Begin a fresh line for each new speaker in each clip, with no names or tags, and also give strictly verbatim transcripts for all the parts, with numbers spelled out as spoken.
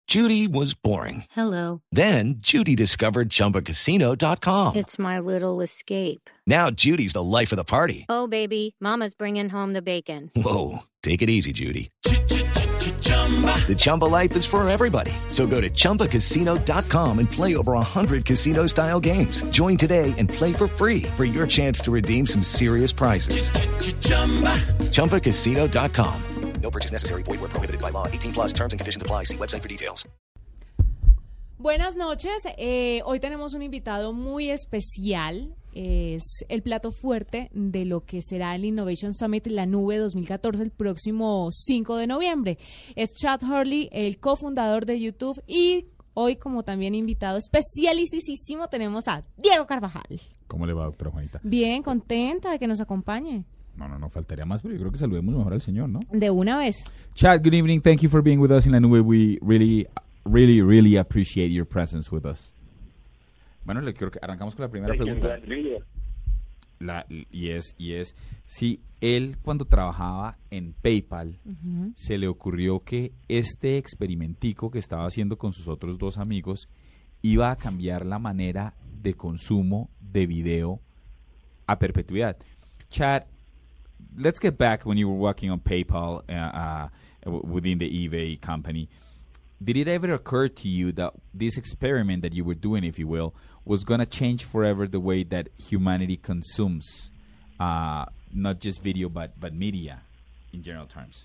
Judy was boring.
Hello.
Then Judy discovered Chumba Casino dot com.
It's my little escape.
Now Judy's the life of the party.
Oh, baby, mama's bringing home the bacon.
Whoa, take it easy, Judy. The Chumba life is for everybody. So go to Chumba Casino dot com and play over one hundred casino-style games. Join today and play for free for your chance to redeem some serious prizes. Chumba Casino dot com. No purchase necessary. Void where prohibited by law. eighteen plus terms and conditions apply. See website for details.
Buenas noches. Eh, hoy tenemos un invitado muy especial. Es el plato fuerte de lo que será el Innovation Summit La Nube dos mil catorce el próximo cinco de noviembre. Es Chad Hurley, el cofundador de YouTube, y hoy como también invitado especialísimo tenemos a Diego Carvajal.
¿Cómo le va, doctora Juanita?
Bien, contenta de que nos acompañe.
No, no, no faltaría más, pero yo creo que saludemos mejor al señor, ¿no?
De una vez.
Chad, good evening. Thank you for being with us in La Nube. We really, really, really appreciate your presence with us. Bueno, le quiero que arrancamos con la primera pregunta. La, y es, y es, si él cuando trabajaba en PayPal, uh-huh, se le ocurrió que este experimentico que estaba haciendo con sus otros dos amigos iba a cambiar la manera de consumo de video a perpetuidad. Chad, let's get back when you were working on PayPal uh, uh, within the eBay company. Did it ever occur to you that this experiment that you were doing, if you will, was going to change forever the way that humanity consumes uh, not just video but, but media in general terms?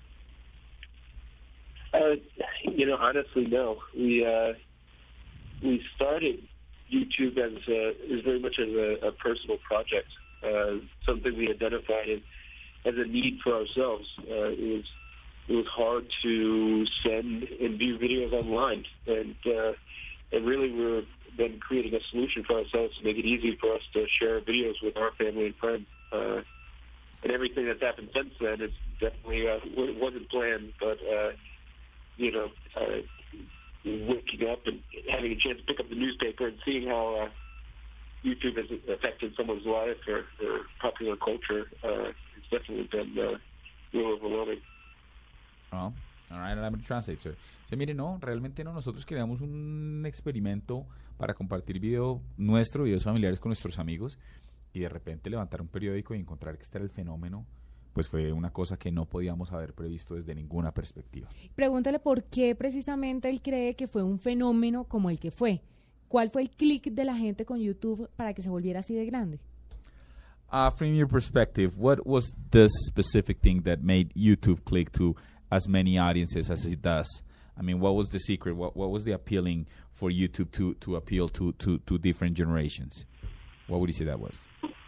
Uh, you know, honestly, no. We uh, we started YouTube as a, as very much as a, a personal project, uh, something we identified as, as a need for ourselves. Uh, it was it was hard to send and view videos online, and uh, and really we were then creating a solution for ourselves to make it easy for us to share videos with our family and friends. Uh, and everything that's happened since then is definitely uh, it wasn't planned, but uh, you know, uh, waking up and having a chance to pick up the newspaper and seeing how uh, YouTube has affected someone's life or, or popular culture, uh, it's definitely been uh, real overwhelming.
Oh, all right, I'm going to translate, sir. Se mire, no, realmente no, nosotros creamos un experimento para compartir video nuestro, videos familiares con nuestros amigos, y de repente levantar un periódico y encontrar que este era el fenómeno, pues fue una cosa que no podíamos haber previsto desde ninguna perspectiva.
Pregúntale por qué precisamente él cree que fue un fenómeno como el que fue. ¿Cuál fue el clic de la gente con YouTube para que se volviera así de grande?
Uh, from your perspective, what was the specific thing that made YouTube click to as many audiences as it does? I mean, what was the secret? What what was the appealing for YouTube to, to appeal to, to, to different generations? What would you say that was?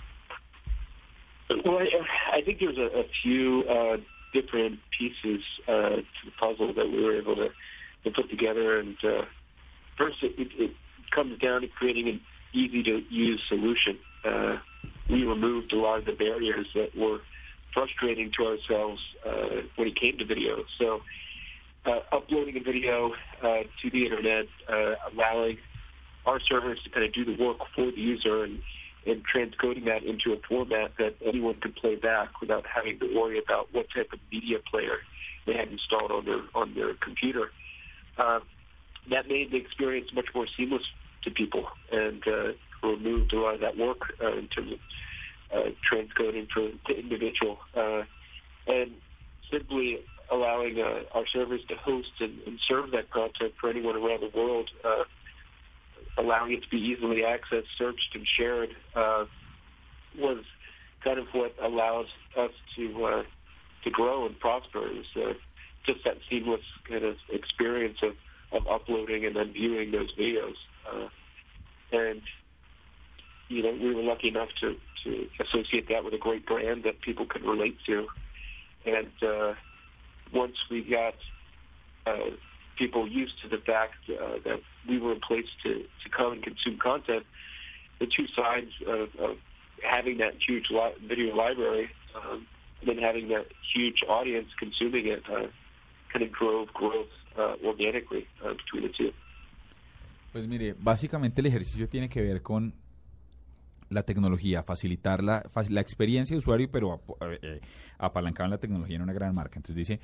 Well, I, I think there's a, a few uh, different pieces uh, to the puzzle that we were able to, to put together. And uh, first, it, it, it comes down to creating an easy-to-use solution. Uh, we removed a lot of the barriers that were frustrating to ourselves uh, when it came to video. So uh, uploading a video uh, to the internet, uh, allowing our servers to kind of do the work for the user and, and transcoding that into a format that anyone could play back without having to worry about what type of media player they had installed on their on their computer. Uh, that made the experience much more seamless to people and uh, removed a lot of that work uh, in terms of uh, transcoding for the individual uh, and simply allowing uh, our servers to host and, and serve that content for anyone around the world, uh, allowing it to be easily accessed, searched, and shared uh, was kind of what allows us to uh, to grow and prosper. It was uh, just that seamless kind of experience of, of uploading and then viewing those videos. Uh, and, you know, we were lucky enough to, to associate that with a great brand that people could relate to. And uh, once we got uh, people used to the fact uh, that we were a place to, to come and consume content, the two sides of, of having that huge li- video library um, and then having that huge audience consuming it uh, kind of drove growth uh, organically uh, between the two.
Pues mire, básicamente el ejercicio tiene que ver con la tecnología, facilitar la, la experiencia de usuario, pero eh, apalancado en la tecnología en una gran marca. Entonces dice,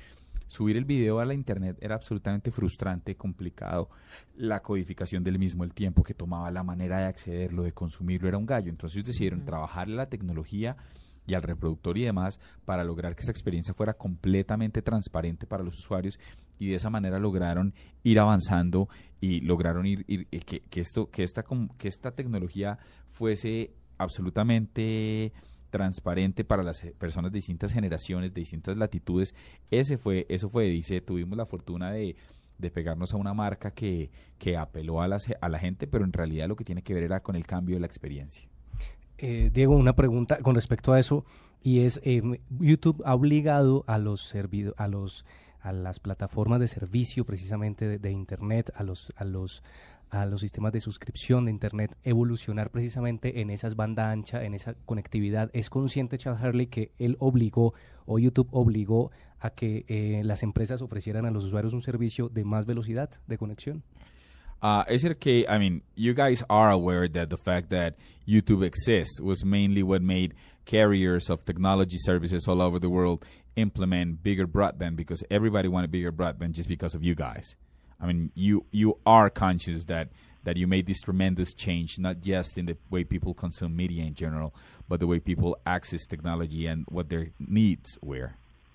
subir el video a la internet era absolutamente frustrante, complicado. La codificación del mismo, el tiempo que tomaba, la manera de accederlo, de consumirlo, era un gallo. Entonces ellos decidieron uh-huh. trabajar la tecnología y al reproductor y demás para lograr que esta experiencia fuera completamente transparente para los usuarios, y de esa manera lograron ir avanzando y lograron ir, ir que, que esto que esta que esta tecnología fuese absolutamente transparente para las personas de distintas generaciones, de distintas latitudes. Ese fue eso fue dice tuvimos la fortuna de de pegarnos a una marca que que apeló a la a la gente, pero en realidad lo que tiene que ver era con el cambio de la experiencia.
Eh, Diego, una pregunta con respecto a eso, y es, eh, YouTube ha obligado a los servido, a los a las plataformas de servicio precisamente de, de internet, a los a los a los sistemas de suscripción de internet, evolucionar precisamente en esas banda ancha, en esa conectividad. ¿Es consciente Chad Hurley que él obligó, o YouTube obligó, a que eh, las empresas ofrecieran a los usuarios un servicio de más velocidad de conexión?
Uh, is it okay? I mean, you guys are aware that the fact that YouTube exists was mainly what made carriers of technology services all over the world implement bigger broadband, because everybody wanted bigger broadband just because of you guys. I mean, you you are conscious that, that you made this tremendous change, not just in the way people consume media in general, but the way people access technology and what their needs were.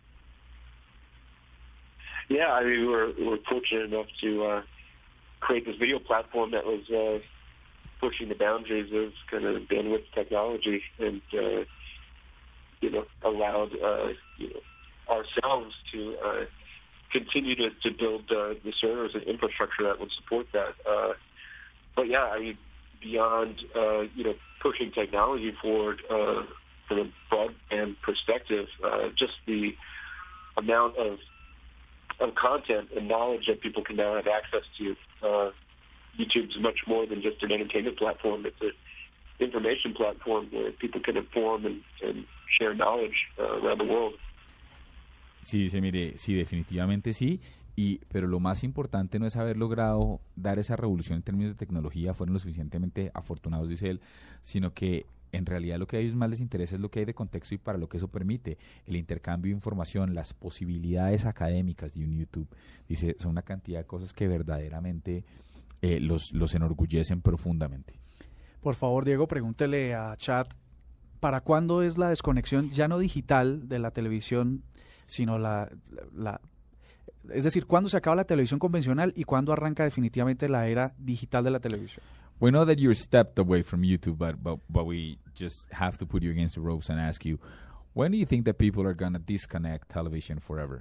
Yeah, I mean, we were, we were fortunate enough to uh, create this video platform that was uh, pushing the boundaries of kind of bandwidth technology, and uh, you know, allowed uh, you know, ourselves to uh, continue to, to build uh, the servers and infrastructure that would support that. Uh, but yeah, I mean, beyond uh, you know, pushing technology forward uh, from a broadband perspective, uh, just the amount of of content and knowledge that people can now have access to. Uh, YouTube's much more than just an entertainment platform. It's an information platform where people can inform and, and share knowledge uh, around the world.
Sí, dice, mire, sí, definitivamente sí, y pero lo más importante no es haber logrado dar esa revolución en términos de tecnología, fueron lo suficientemente afortunados, dice él, sino que en realidad lo que a ellos más les interesa es lo que hay de contexto y para lo que eso permite, el intercambio de información, las posibilidades académicas de un YouTube. Dice, son una cantidad de cosas que verdaderamente eh, los, los enorgullecen profundamente.
Por favor, Diego, pregúntele a Chad, ¿para cuándo es la desconexión ya no digital de la televisión, sino la... la es decir, ¿cuándo se acaba la televisión convencional y cuándo arranca definitivamente la era digital de la televisión?
We know that you're stepped away from YouTube, but, but but we just have to put you against the ropes and ask you, when do you think that people are going to disconnect television forever?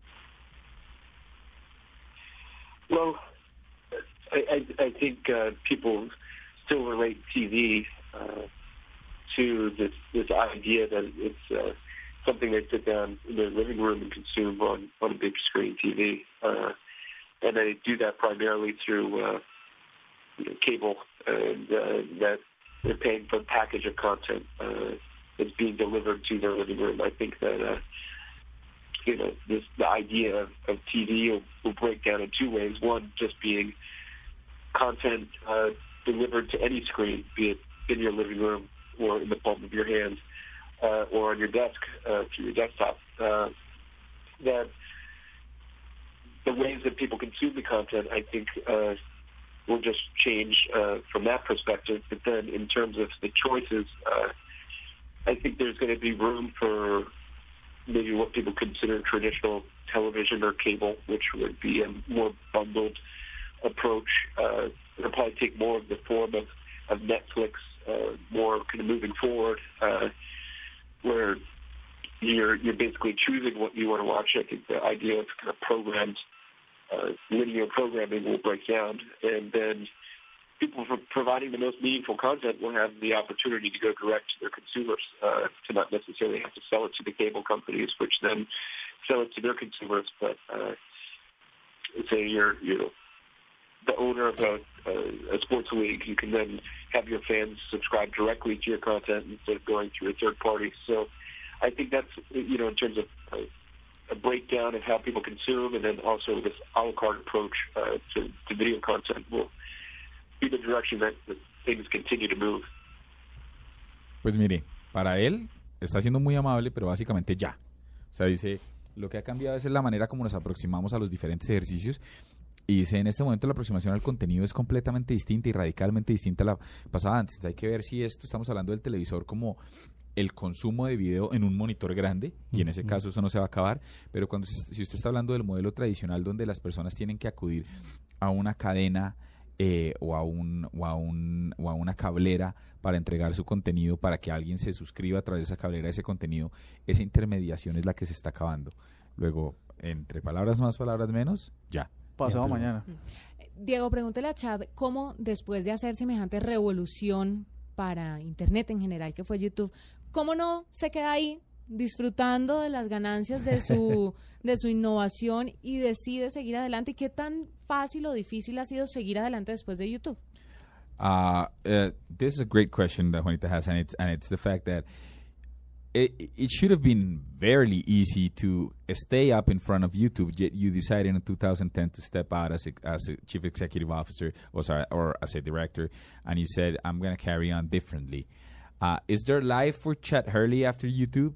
Well, I, I, I think uh, people still relate T V uh, to this, this idea that it's uh, something they sit down in their living room and consume on, on a big screen T V. Uh, and they do that primarily through uh, you know, cable, and uh, that they're paying for a package of content uh, that's being delivered to their living room. I think that uh, you know this the idea of, of T V will, will break down in two ways. One, just being content uh, delivered to any screen, be it in your living room or in the palm of your hand uh, or on your desk uh, through your desktop. Uh, that the ways that people consume the content, I think. Uh, will just change uh, from that perspective. But then in terms of the choices, uh, I think there's going to be room for maybe what people consider traditional television or cable, which would be a more bundled approach. Uh, it'll probably take more of the form of, of Netflix, uh, more kind of moving forward, uh, where you're, you're basically choosing what you want to watch. I think the idea of kind of programmed Uh, linear programming will break down, and then people for providing the most meaningful content will have the opportunity to go direct to their consumers, uh, to not necessarily have to sell it to the cable companies, which then sell it to their consumers. But uh, say you're you know the owner of a, a, a sports league, you can then have your fans subscribe directly to your content instead of going through a third party. So I think that's you know in terms of uh, a breakdown of how people consume, and then also this a la carte approach uh, to, to video content will be the direction that, that things continue to move.
Pues mire, para él está siendo muy amable, pero básicamente ya. O sea, dice, Lo que ha cambiado es la manera como nos aproximamos a los diferentes ejercicios. Y dice, en este momento la aproximación al contenido es completamente distinta y radicalmente distinta a la pasada antes. Entonces hay que ver si esto, estamos hablando del televisor como el consumo de video en un monitor grande, y en ese caso eso no se va a acabar, pero cuando si usted está hablando del modelo tradicional donde las personas tienen que acudir a una cadena eh, o, a un, o, a un, o a una cablera para entregar su contenido, para que alguien se suscriba a través de esa cablera a ese contenido, esa intermediación es la que se está acabando. Luego, entre palabras más, palabras menos, ya.
Pasado mañana.
Diego, pregúntele a Chad cómo después de hacer semejante revolución para Internet en general, que fue YouTube, ¿cómo no se queda ahí disfrutando de las ganancias de su de su innovación y decide seguir adelante? ¿Y qué tan fácil o difícil ha sido seguir adelante después de YouTube?
Uh, uh, this is a great question that Juanita has, and it's and it's the fact that it it should have been very easy to stay up in front of YouTube. Yet you decided in two thousand ten to step out as a, as a chief executive officer, or sorry, or as a director, and you said, "I'm going to carry on differently." Uh, is there life for Chad Hurley after YouTube?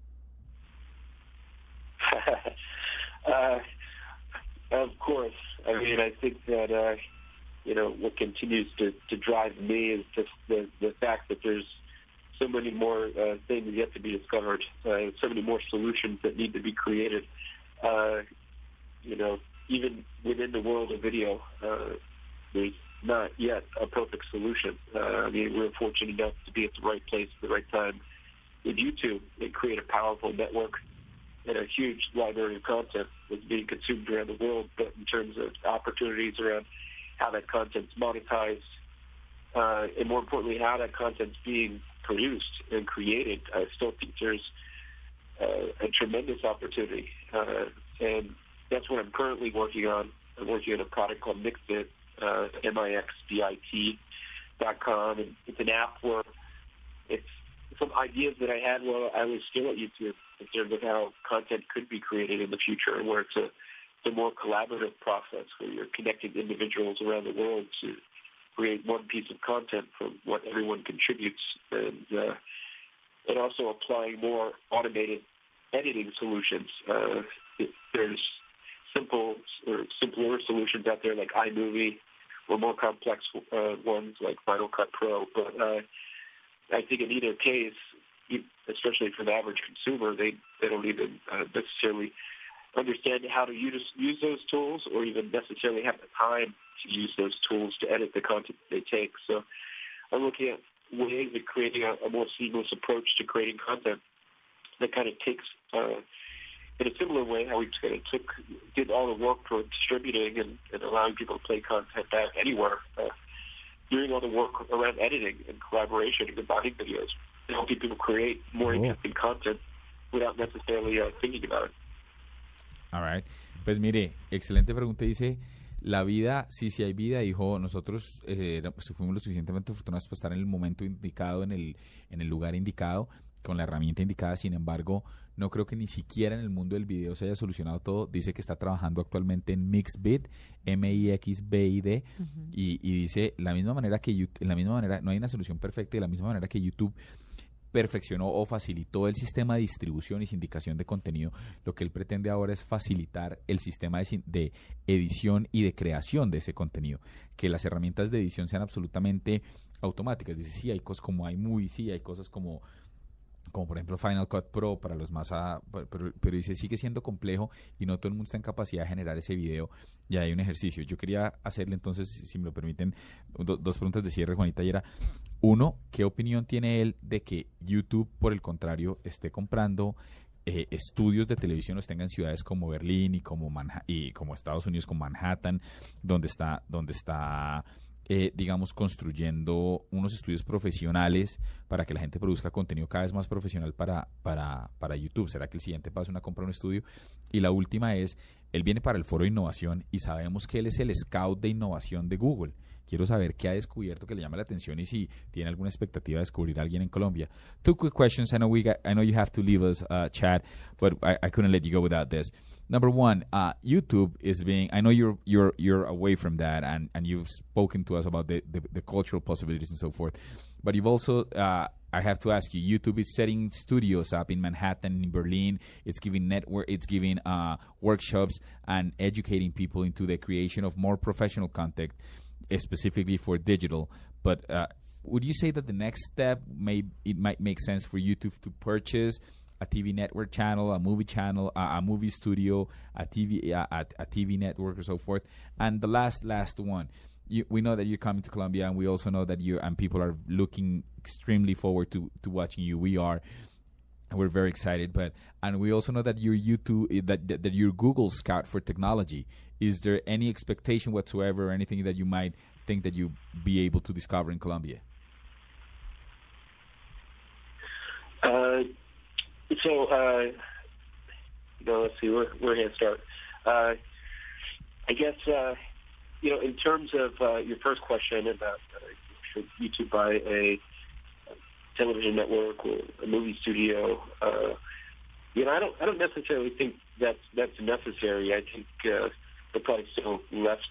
uh, of course. I mean, I think that uh, you know what continues to, to drive me is just the the fact that there's so many more uh, things yet to be discovered, uh, so many more solutions that need to be created. Uh, you know, even within the world of video, uh, there's not yet a perfect solution. Uh, I mean, we're fortunate enough to be at the right place at the right time with YouTube and create a powerful network and a huge library of content that's being consumed around the world, but in terms of opportunities around how that content's monetized, uh, and more importantly, how that content's being produced and created, I still think there's uh, a tremendous opportunity. Uh, and that's what I'm currently working on. I'm working on a product called Mixbit, uh, M I X B I T dot com. And it's an app where it's some ideas that I had while I was still at YouTube in terms of how content could be created in the future, and where it's a, it's a more collaborative process where you're connecting individuals around the world to create one piece of content from what everyone contributes, and uh, and also applying more automated editing solutions. Uh, it, there's simple or simpler solutions out there like iMovie, or more complex uh, ones like Final Cut Pro. But uh, I think in either case, especially for the average consumer, they they don't even uh, necessarily understand how to use use those tools, or even necessarily have the time to use those tools to edit the content they take. So I'm looking at ways of creating a, a more seamless approach to creating content that kind of takes, uh, in a similar way, how we kind of took, did all the work for distributing and, and allowing people to play content back anywhere, uh, doing all the work around editing and collaboration and combining videos, and helping people create more
Cool.
interesting content without necessarily uh, thinking about it.
All right. Pues mire, excelente pregunta. Dice, la vida, sí, sí hay vida, dijo, nosotros eh, pues, fuimos lo suficientemente afortunados para estar en el momento indicado, en el, en el lugar indicado, con la herramienta indicada. Sin embargo, no creo que ni siquiera en el mundo del video se haya solucionado todo. Dice que está trabajando actualmente en Mixbit, M I X B I D, uh-huh. y, y dice, la misma manera que YouTube, la misma manera, no hay una solución perfecta, y de la misma manera que YouTube perfeccionó o facilitó el sistema de distribución y sindicación de contenido, lo que él pretende ahora es facilitar el sistema de, de edición y de creación de ese contenido, que las herramientas de edición sean absolutamente automáticas. Dice, sí, hay cosas como iMovie, sí, hay cosas como como por ejemplo Final Cut Pro para los más a, pero, pero dice sigue siendo complejo y no todo el mundo está en capacidad de generar ese video. Ya hay un ejercicio. Yo quería hacerle entonces, si me lo permiten, do, dos preguntas de cierre, Juanita, y era, uno, ¿qué opinión tiene él de que YouTube, por el contrario, esté comprando eh, estudios de televisión, los tenga en ciudades como Berlín y como Manha- y como Estados Unidos, como Manhattan, donde está, donde está Eh, digamos, construyendo unos estudios profesionales para que la gente produzca contenido cada vez más profesional para, para, para YouTube? ¿Será que el siguiente paso es una compra de un estudio? Y la última es, él viene para el Foro de Innovación y sabemos que él es el scout de innovación de Google. Quiero saber qué ha descubierto que le llama la atención y si tiene alguna expectativa de descubrir a alguien en Colombia. Two quick questions. I know we got, I know you have to leave us, uh, Chad, but I, I couldn't let you go without this. Number one, uh, YouTube is being, I know you're you're you're away from that, and, and you've spoken to us about the, the, the cultural possibilities and so forth, but you've also, uh, I have to ask you, YouTube is setting studios up in Manhattan, in Berlin. It's giving network, it's giving uh, workshops and educating people into the creation of more professional content, uh, specifically for digital. But uh, would you say that the next step may it might make sense for YouTube to purchase a T V network channel, a movie channel, a, a movie studio, a T V a, a, a T V network, or so forth? And the last last one. You, we know that you're coming to Colombia, and we also know that you and people are looking extremely forward to, to watching you. We are, and we're very excited. But and we also know that you're YouTube, that, that that you're Google Scout for technology. Is there any expectation whatsoever, or anything that you might think that you be able to discover in Colombia?
Uh, so, uh, you know, let's see, where where to start. Uh, I guess. Uh, You know, in terms of uh, your first question about uh, should YouTube buy a, a television network or a movie studio, uh, you know, I don't, I don't necessarily think that's that's necessary. I think uh, they're probably still left,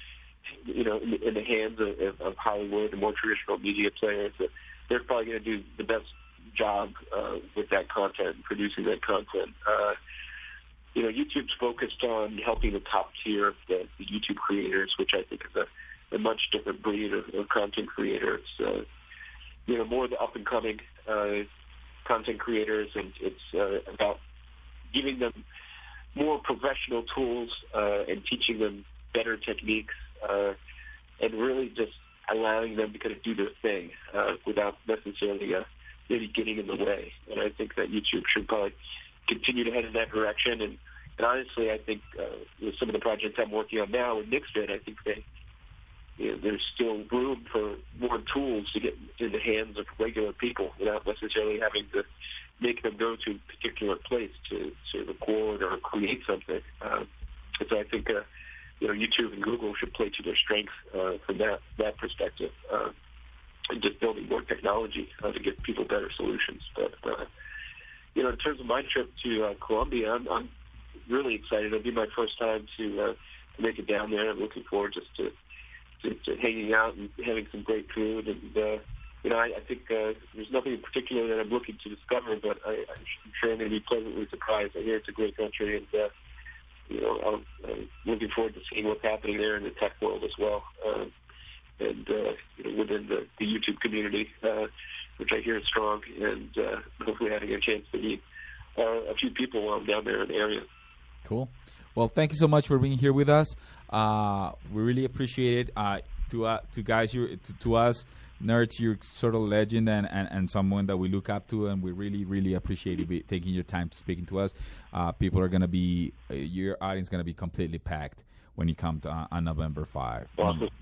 you know, in, in the hands of, of Hollywood and more traditional media players. That they're probably going to do the best job uh, with that content, producing that content. Uh, You know, YouTube's focused on helping the top tier of the, the YouTube creators, which I think is a, a much different breed of, of content creators. Uh, you know, more the up-and-coming uh, content creators, and it's uh, about giving them more professional tools uh, and teaching them better techniques, uh, and really just allowing them to kind of do their thing uh, without necessarily uh, maybe getting in the way. And I think that YouTube should probably continue to head in that direction. And, and honestly, I think uh, with some of the projects I'm working on now with Mixvid, I think they, you know, there's still room for more tools to get in the hands of regular people without necessarily having to make them go to a particular place to, to record or create something. Uh, and so I think, uh, you know, YouTube and Google should play to their strengths uh, from that, that perspective, uh, and just building more technology uh, to give people better solutions. But, uh, You know, in terms of my trip to uh, Colombia, I'm, I'm really excited. It'll be my first time to, uh, to make it down there. I'm looking forward just to, to, to hanging out and having some great food. And, uh, you know, I, I think uh, there's nothing in particular that I'm looking to discover, but I, I'm sure I'm going to be pleasantly surprised. I hear it's a great country, and, uh, you know, I'm, I'm looking forward to seeing what's happening there in the tech world as well, uh, and, uh, you know, within the, the YouTube community. Uh, which I hear is strong, and uh, hopefully having a chance to meet uh, a few people while I'm down there in the area.
Cool. Well, thank you so much for being here with us. Uh, we really appreciate it. Uh, to uh, to guys, you to, to us nerds, you're sort of a legend and, and, and someone that we look up to, and we really, really appreciate you be, taking your time to speaking to us. Uh, people are going to be, uh, your audience is going to be completely packed when you come to uh, on November fifth.
Awesome.
Um,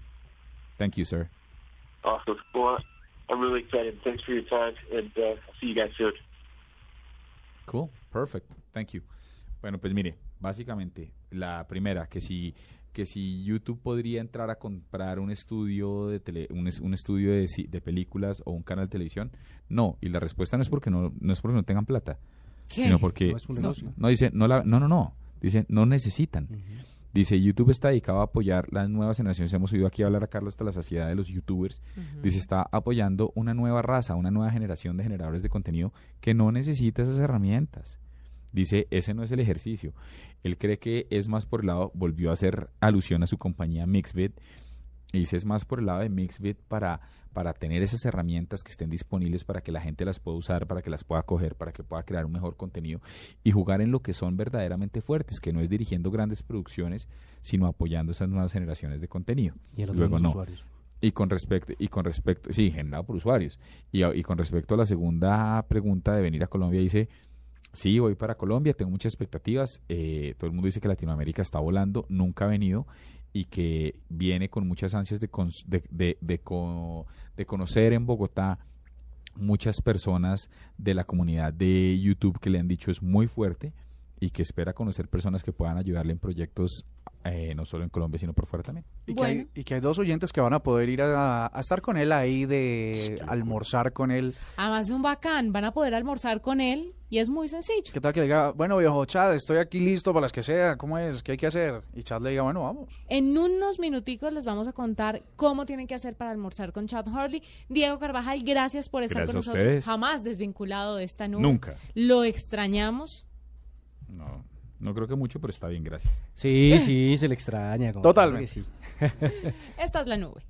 thank you, sir.
Awesome. Well, I'm really excited. Thanks for your time, and uh, I'll see you guys soon.
Cool. Perfect. Thank you. Bueno, pues mire, básicamente, la primera, que si que si YouTube podría entrar a comprar un estudio de tele, un, un estudio de, de películas o un canal de televisión, no. Y la respuesta no es porque no, no es porque no tengan plata,
¿Qué?
sino porque
No es un negocio.
no, no dice no la, no no no dice no necesitan. Uh-huh. Dice, YouTube está dedicado a apoyar las nuevas generaciones. Hemos oído aquí hablar a Carlos hasta la saciedad de los YouTubers. Uh-huh. Dice, está apoyando una nueva raza, una nueva generación de generadores de contenido que no necesita esas herramientas. Dice, ese no es el ejercicio. Él cree que es más por el lado, volvió a hacer alusión a su compañía Mixvid, y dice, es más por el lado de Mixvid para, para tener esas herramientas que estén disponibles para que la gente las pueda usar, para que las pueda coger, para que pueda crear un mejor contenido y jugar en lo que son verdaderamente fuertes, que no es dirigiendo grandes producciones, sino apoyando esas nuevas generaciones de contenido.
Y a los
Luego no.
usuarios.
Y con respecto, y con respecto, sí, generado por usuarios. Y, y con respecto a la segunda pregunta de venir a Colombia, dice, sí, voy para Colombia, tengo muchas expectativas. Eh, todo el mundo dice que Latinoamérica está volando, nunca ha venido, y que viene con muchas ansias de, con, de, de, de, co, de conocer en Bogotá muchas personas de la comunidad de YouTube que le han dicho es muy fuerte, y que espera conocer personas que puedan ayudarle en proyectos eh, no solo en Colombia, sino por fuera también.
Y,
Bueno.
que hay, y que hay dos oyentes que van a poder ir a, a estar con él ahí, de almorzar con él.
Además de un bacán, van a poder almorzar con él y es muy sencillo.
¿Qué tal que le diga, bueno, viejo Chad, estoy aquí listo para las que sea, ¿cómo es? ¿Qué hay que hacer? Y Chad le diga, bueno, vamos.
En unos minuticos les vamos a contar cómo tienen que hacer para almorzar con Chad Hurley. Diego Carvajal, gracias por estar
Gracias
con
a
nosotros.
ustedes.
Jamás desvinculado de esta nube.
Nunca.
Lo extrañamos.
No, no creo que mucho, pero está bien, gracias.
Sí, sí, se le extraña. como
Totalmente.
claro que sí.
Esta es la nube.